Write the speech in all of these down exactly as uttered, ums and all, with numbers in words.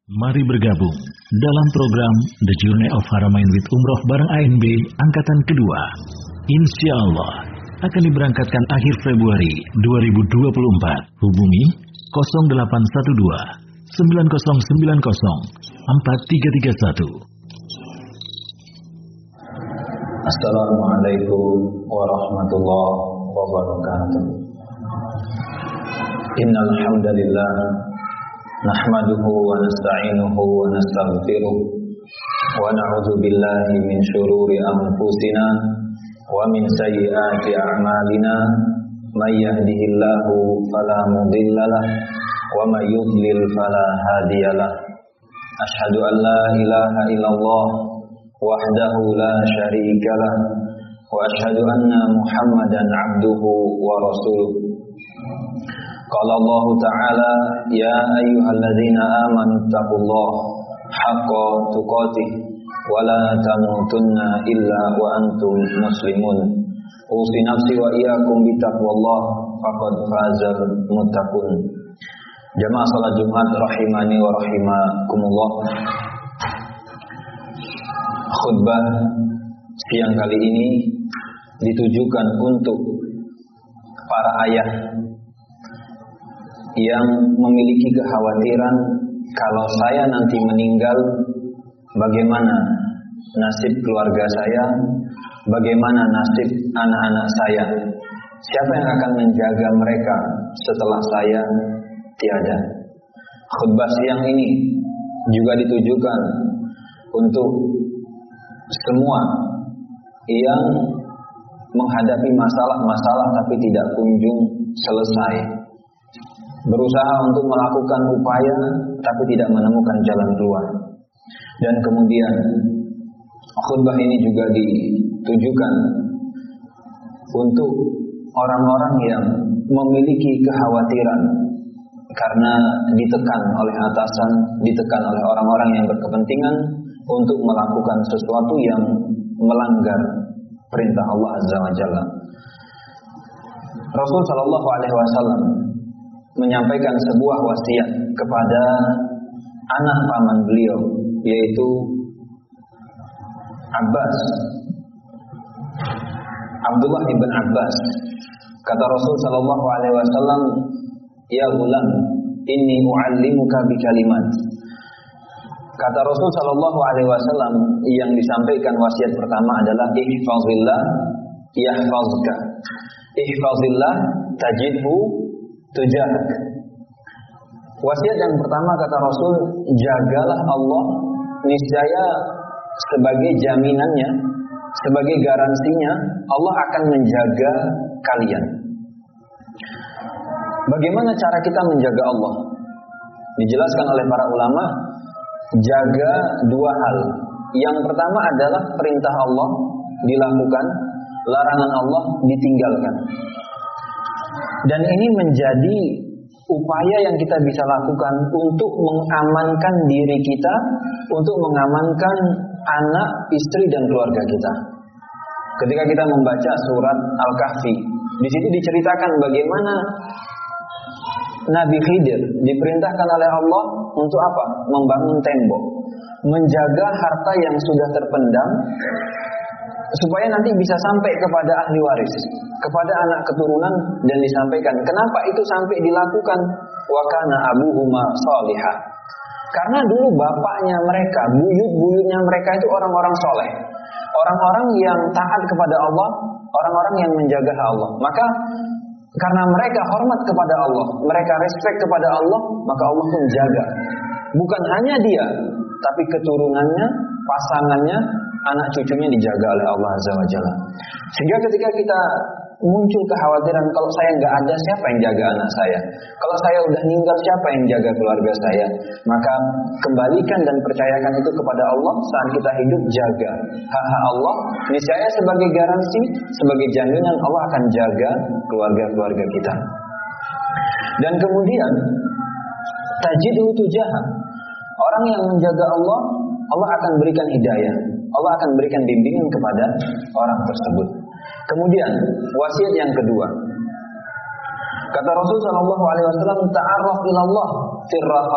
Mari bergabung dalam program The Journey of Haramain with Umroh bareng A N B Angkatan Kedua. Insya Allah akan diberangkatkan akhir Februari dua ribu dua puluh empat. Hubungi nol delapan satu dua sembilan nol sembilan nol empat tiga tiga satu. Assalamualaikum warahmatullahi wabarakatuh. Innal hamdalillah nahmaduhu wa nasta'inuhu wa nastaghfiruh wa na'udzu billahi min shururi anfusina wa min sayyiati a'malina may yahdihillahu fala mudhillalah wa may yudlil fala hadiyalah. Asyhadu an la ilaha illallah wahdahu la syarikalah wa asyhadu anna Muhammadan 'abduhu wa rasuluh. Qala Allah Ta'ala ya ayyuhalladzina amanu taqullaha haqqa tuqatih wa la tamutunna illa wa antum muslimun. Usi nafsi wa iyyakum bitaqwallah faqad fazal muttaqun. Jamaah salat Jumat rahimani wa rahimakumullah. Khutbah siang kali ini ditujukan untuk para ayah yang memiliki kekhawatiran kalau saya nanti meninggal, bagaimana nasib keluarga saya, bagaimana nasib anak-anak saya, siapa yang akan menjaga mereka setelah saya tiada. Khutbah siang ini juga ditujukan untuk semua yang menghadapi masalah-masalah tapi tidak kunjung selesai, berusaha untuk melakukan upaya tapi tidak menemukan jalan keluar. Dan kemudian khutbah ini juga ditujukan untuk orang-orang yang memiliki kekhawatiran karena ditekan oleh atasan, ditekan oleh orang-orang yang berkepentingan untuk melakukan sesuatu yang melanggar perintah Allah Azza wa Jalla. Rasul sallallahu alaihi wasallam menyampaikan sebuah wasiat kepada anak paman beliau, yaitu Abbas, Abdullah ibn Abbas. Kata Rasul sallallahu alaihi wasallam, "Ya gulam, inni u'allimuka bi kalimat." Kata Rasul sallallahu alaihi wasallam yang disampaikan wasiat pertama adalah ihfazillah yahfazka. Ihfazillah tajidhu tujahak. Wasiat yang pertama kata Rasul, jagalah Allah, niscaya sebagai jaminannya, sebagai garansinya Allah akan menjaga kalian. Bagaimana cara kita menjaga Allah? Dijelaskan oleh para ulama, jaga dua hal. Yang pertama adalah perintah Allah dilakukan, larangan Allah ditinggalkan. Dan ini menjadi upaya yang kita bisa lakukan untuk mengamankan diri kita, untuk mengamankan anak, istri dan keluarga kita. Ketika kita membaca surat Al-Kahfi, di situ diceritakan bagaimana Nabi Khidir diperintahkan oleh Allah untuk apa? Membangun tembok, menjaga harta yang sudah terpendam supaya nanti bisa sampai kepada ahli waris, kepada anak keturunan, dan disampaikan. Kenapa itu sampai dilakukan? Wa kana abuhuma shalihah. Karena dulu bapaknya mereka, buyut-buyutnya mereka itu orang-orang soleh, orang-orang yang taat kepada Allah, orang-orang yang menjaga Allah. Maka karena mereka hormat kepada Allah, mereka respect kepada Allah, maka Allah pun jaga. Bukan hanya dia, tapi keturunannya, pasangannya, anak cucunya dijaga oleh Allah Azza wa Jalla. Sehingga ketika kita muncul kekhawatiran, kalau saya nggak ada, siapa yang jaga anak saya? Kalau saya udah meninggal, siapa yang jaga keluarga saya? Maka kembalikan dan percayakan itu kepada Allah. Saat kita hidup, jaga hak-hak Allah. Niscaya sebagai garansi, sebagai jaminan Allah akan jaga keluarga-keluarga kita. Dan kemudian tajidu tujahah. Orang yang menjaga Allah, Allah akan berikan hidayah, Allah akan berikan bimbingan kepada orang tersebut. Kemudian wasiat yang kedua, kata Rasul sallallahu alaihi wasallam, ta'arraf ilallah firraha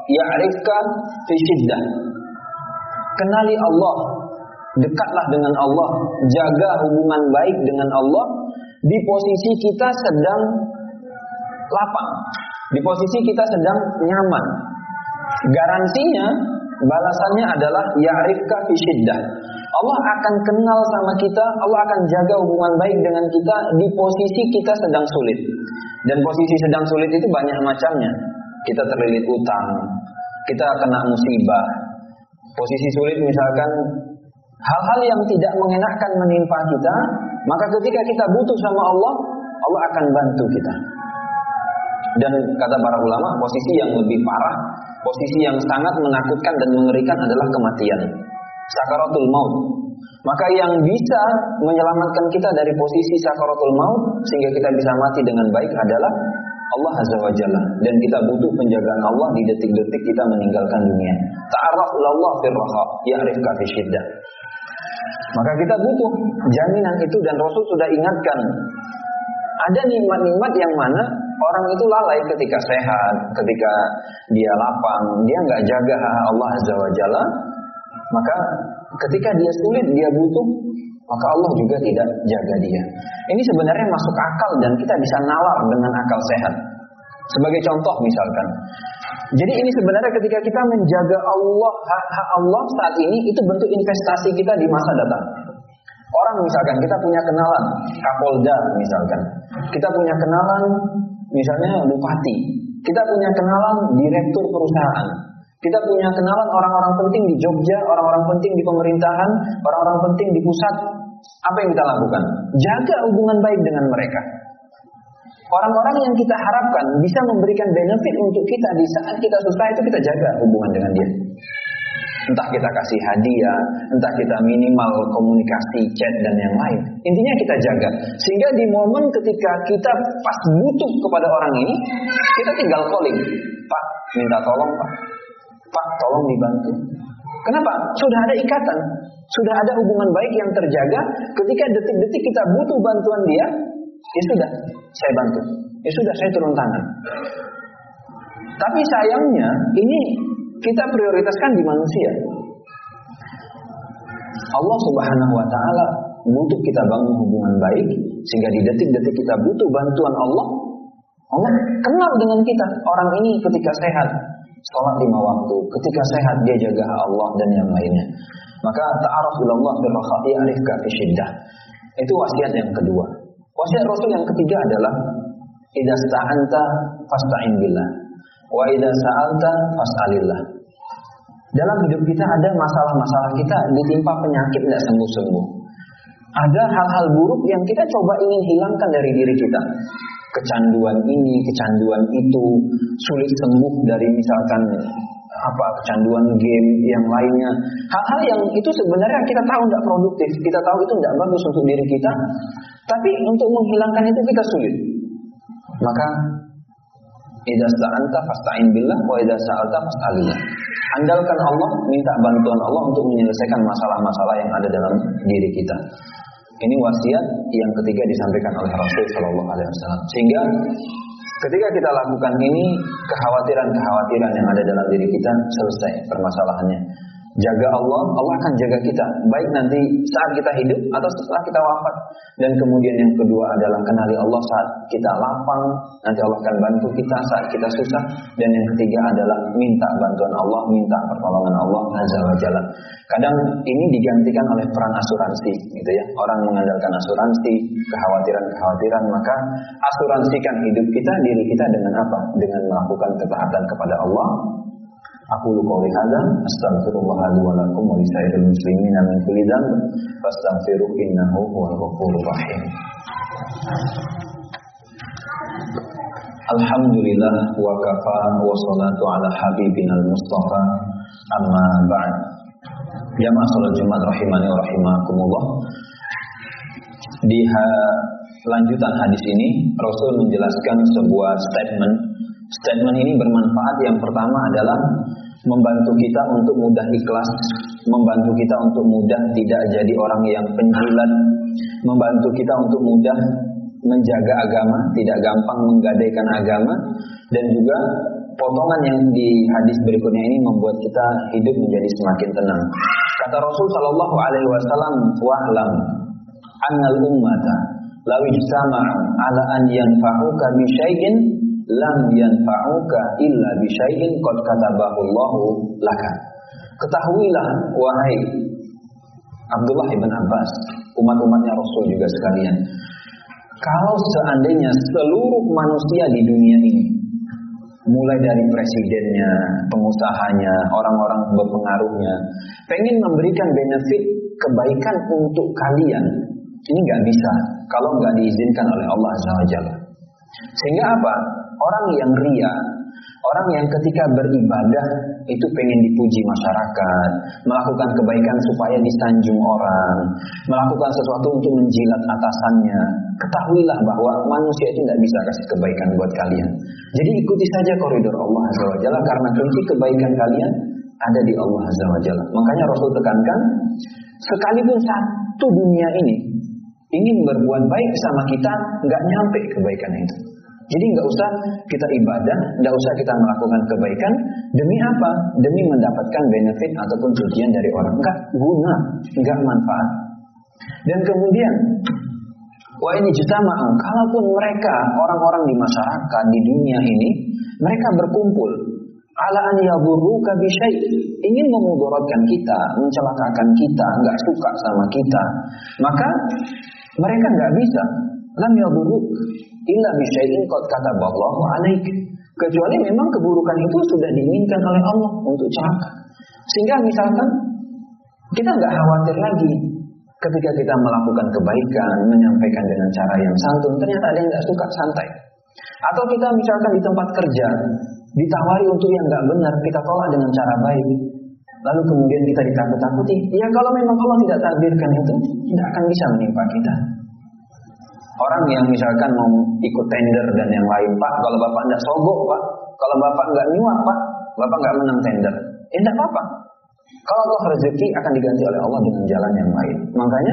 ya'rifka fi syiddah. Kenali Allah, dekatlah dengan Allah, jaga hubungan baik dengan Allah di posisi kita sedang lapang, di posisi kita sedang nyaman. Garansinya, balasannya adalah ya'rifka fi syiddah. Allah akan kenal sama kita, Allah akan jaga hubungan baik dengan kita di posisi kita sedang sulit. Dan posisi sedang sulit itu banyak macamnya. Kita terlilit utang, kita kena musibah. Posisi sulit misalkan hal-hal yang tidak mengenakkan menimpa kita, maka ketika kita butuh sama Allah, Allah akan bantu kita. Dan kata para ulama, posisi yang lebih parah, posisi yang sangat menakutkan dan mengerikan adalah kematian, sakaratul maut. Maka yang bisa menyelamatkan kita dari posisi sakaratul maut sehingga kita bisa mati dengan baik adalah Allah Azza wa Jalla. Dan kita butuh penjagaan Allah di detik-detik kita meninggalkan dunia. Ta'arraf ilallah fir raha ya'rifka fi syiddah. Maka kita butuh jaminan itu, dan Rasul sudah ingatkan. Ada nikmat-nikmat yang mana orang itu lalai ketika sehat, ketika dia lapang, dia nggak jaga Allah Azza wa Jalla. Maka ketika dia sulit, dia butuh, maka Allah juga tidak jaga dia. Ini sebenarnya masuk akal dan kita bisa nalar dengan akal sehat. Sebagai contoh misalkan, jadi ini sebenarnya ketika kita menjaga Allah, hak-hak Allah saat ini, itu bentuk investasi kita di masa datang. Orang misalkan kita punya kenalan Kapolda misalkan, kita punya kenalan misalnya Bupati, kita punya kenalan Direktur perusahaan, kita punya kenalan orang-orang penting di Jogja, orang-orang penting di pemerintahan, orang-orang penting di pusat. Apa yang kita lakukan? Jaga hubungan baik dengan mereka. Orang-orang yang kita harapkan bisa memberikan benefit untuk kita di saat kita susah, itu kita jaga hubungan dengan dia. Entah kita kasih hadiah, entah kita minimal komunikasi, chat dan yang lain. Intinya kita jaga. Sehingga di momen ketika kita pas butuh kepada orang ini, kita tinggal calling. Pak, minta tolong Pak. Pak, tolong dibantu. Kenapa? Sudah ada ikatan. Sudah ada hubungan baik yang terjaga. Ketika detik-detik kita butuh bantuan dia, ya sudah, saya bantu. Ya sudah, saya turun tangan. Tapi sayangnya, ini kita prioritaskan di manusia. Allah Subhanahu wa Ta'ala butuh kita bangun hubungan baik, sehingga di detik-detik kita butuh bantuan Allah, Allah kenal dengan kita. Orang ini ketika sehat, sholat lima waktu, ketika sehat dia jaga Allah dan yang lainnya. Maka ta'aruf ilallah fir raha ya'rifka fi syiddah. Itu wasiat yang kedua. Wasiat Rasul yang ketiga adalah idza sta'anta fasta'in billah wa idza sa'alta fas'alillah. Dalam hidup kita ada masalah-masalah, kita ditimpa penyakit tidak sembuh-sembuh. Ada hal-hal buruk yang kita coba ingin hilangkan dari diri kita. Kecanduan ini, kecanduan itu, sulit sembuh dari misalkan apa kecanduan game yang lainnya. Hal-hal yang itu sebenarnya kita tahu tidak produktif, kita tahu itu tidak bagus untuk diri kita, tapi untuk menghilangkan itu kita sulit. Maka idza sta'anta fasta'in billah wa idza sa'alta fas'alillah. Andalkan Allah, minta bantuan Allah untuk menyelesaikan masalah-masalah yang ada dalam diri kita. Ini wasiat yang ketiga disampaikan oleh Rasul Shallallahu Alaihi Wasallam. Sehingga ketika kita lakukan ini, kekhawatiran-kekhawatiran yang ada dalam diri kita selesai permasalahannya. Jaga Allah, Allah akan jaga kita, baik nanti saat kita hidup atau setelah kita wafat. Dan kemudian yang kedua adalah kenali Allah saat kita lapang, nanti Allah akan bantu kita saat kita susah. Dan yang ketiga adalah minta bantuan Allah, minta pertolongan Allah Azza wa Jalla. Kadang ini digantikan oleh peran asuransi, gitu ya. Orang mengandalkan asuransi, kekhawatiran-kekhawatiran, maka asuransikan hidup kita, diri kita dengan apa? Dengan melakukan ketaatan kepada Allah. Aku qouli hadza astaghfirullah li wa lakum wa lisairil muslimina min kulli dhanb fastaghfiruhu innahu huwal ghafurur rahim. Alhamdulillah wa kafa wa salatu ala habibinal mustafa amma ba'd. Jamaah salat Jumat rahimani wa rahimakumullah. Di ha- lanjutan hadis ini Rasul menjelaskan sebuah statement. Statement ini bermanfaat. Yang pertama adalah membantu kita untuk mudah ikhlas, membantu kita untuk mudah tidak jadi orang yang penjilat, membantu kita untuk mudah menjaga agama, tidak gampang menggadaikan agama, dan juga potongan yang di hadis berikutnya ini membuat kita hidup menjadi semakin tenang. Kata Rasul Shallallahu Alaihi Wasallam, wa'lam annal ummata law ijtama'u ala an yanfa'uka bi syai'in lam yanfa'uka illa bi syai'in qad katabahu Allahu laka. Ketahuilah wahai Abdullah ibn Abbas, umat-umatnya Rasul juga sekalian, kalau seandainya seluruh manusia di dunia ini, mulai dari presidennya, pengusahanya, orang-orang berpengaruhnya, pengen memberikan benefit kebaikan untuk kalian, ini nggak bisa kalau nggak diizinkan oleh Allah Azza wa Jalla. Sehingga apa? Orang yang ria, orang yang ketika beribadah itu pengen dipuji masyarakat, melakukan kebaikan supaya disanjung orang, melakukan sesuatu untuk menjilat atasannya, ketahuilah bahwa manusia itu tidak bisa kasih kebaikan buat kalian. Jadi ikuti saja koridor Allah Azza wa Jalla, karena kunci kebaikan kalian ada di Allah Azza wa Jalla. Makanya Rasul tekankan, sekalipun satu dunia ini ingin berbuat baik sama kita, nggak nyampe kebaikan itu. Jadi nggak usah kita ibadah, nggak usah kita melakukan kebaikan. Demi apa? Demi mendapatkan benefit ataupun pujian dari orang. Nggak guna, nggak manfaat. Dan kemudian, wah ini jutama'u, kalaupun mereka, orang-orang di masyarakat, di dunia ini, mereka berkumpul, ala an yadurruka bi syai', ingin memudaratkan kita, mencelakakan kita, nggak suka sama kita, maka mereka nggak bisa. Lam yadurruk illa bi syai'in qad kataballahu 'alaik. Kecuali memang keburukan itu sudah diinginkan oleh Allah untuk celaka. Sehingga misalkan kita nggak khawatir lagi ketika kita melakukan kebaikan, menyampaikan dengan cara yang santun, ternyata ada yang nggak suka, santai. Atau kita misalkan di tempat kerja ditawari untuk yang nggak benar, kita tolak dengan cara baik. Lalu kemudian kita ditakut-takuti. Ya kalau memang Allah tidak takdirkan itu, tidak akan bisa menimpa kita. Orang yang misalkan mau ikut tender dan yang lain, Pak, kalau Bapak tidak sogok, Pak, kalau Bapak nggak nyuap, Pak, Bapak nggak menang tender. Ya tidak apa-apa. Kalau Allah rezeki akan diganti oleh Allah dengan jalan yang lain. Makanya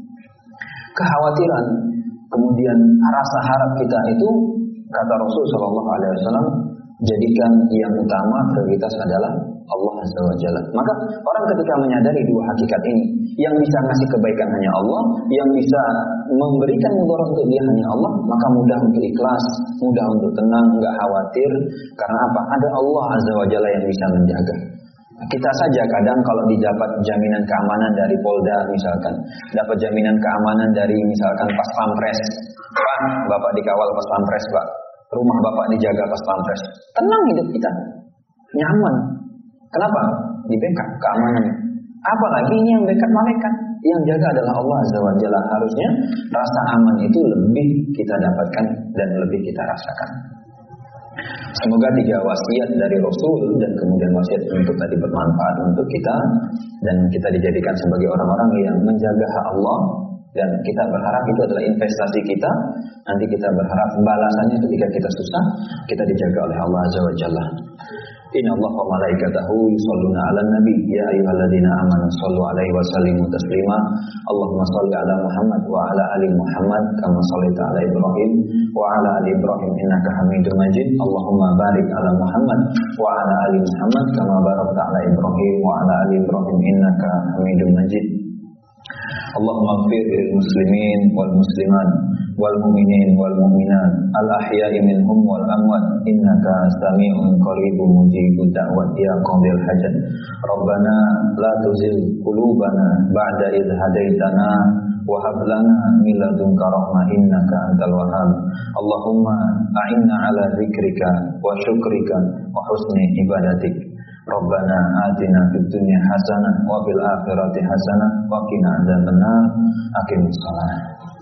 kekhawatiran, kemudian rasa harap kita itu, kata Rasul Shallallahu Alaihi Wasallam, jadikan yang utama prioritas adalah Allah Azza wa Jalla. Maka orang ketika menyadari dua hakikat ini, yang bisa ngasih kebaikan hanya Allah, yang bisa memberikan mudarat untuk dia hanya Allah, maka mudah untuk ikhlas, mudah untuk tenang, nggak khawatir. Karena apa? Ada Allah Azza wa Jalla yang bisa menjaga. Kita saja kadang kalau didapat jaminan keamanan dari Polda misalkan, dapat jaminan keamanan dari misalkan Pas Pampres, Pak, Bapak dikawal Pas Pampres, Pak, rumah Bapak dijaga Pas Pampres, tenang hidup kita, nyaman. Kenapa? Di backup keamanannya. Apalagi ini yang backup malaikat, yang jaga adalah Allah Azza wa Jalla. Harusnya rasa aman itu lebih kita dapatkan dan lebih kita rasakan. Semoga tiga wasiat dari Rasul dan kemudian wasiat untuk tadi bermanfaat untuk kita, dan kita dijadikan sebagai orang-orang yang menjaga hak Allah, dan kita berharap itu adalah investasi kita. Nanti kita berharap balasannya ketika kita susah, kita dijaga oleh Allah Azza wa Jalla. Inna Allah wa malaikatahu yusholluna ala nabi ya ayyuhalladzina amanu shollu alaihi wa sallimu taslima. Allahumma sholli ala Muhammad wa ala ali Muhammad kama shallaita ala Ibrahim wa ala ali Ibrahim innaka Hamidum Majid. Allahumma barik ala Muhammad wa ala ali Muhammad kama barakta ala Ibrahim wa ala ali Ibrahim innaka Hamidum Majid. Allahumma ighfir lil muslimin wal muslimat wal mu'minin wal mu'minat al ahya'i minhum wal amwat innaka sami'un qaribun mujibud da'wat ya qadil hajat. Rabbana la tuzigh qulubana ba'da idh hadaitana wa hab lana min ladunka rahmah innaka antal wahhab. Allahumma a'inna ala dzikrika wa syukrika wa husni ibadatik. Rabbana atina fid dunya hasanah wa fil akhirati hasanah wa qina adzabannar. Aqimus shalah.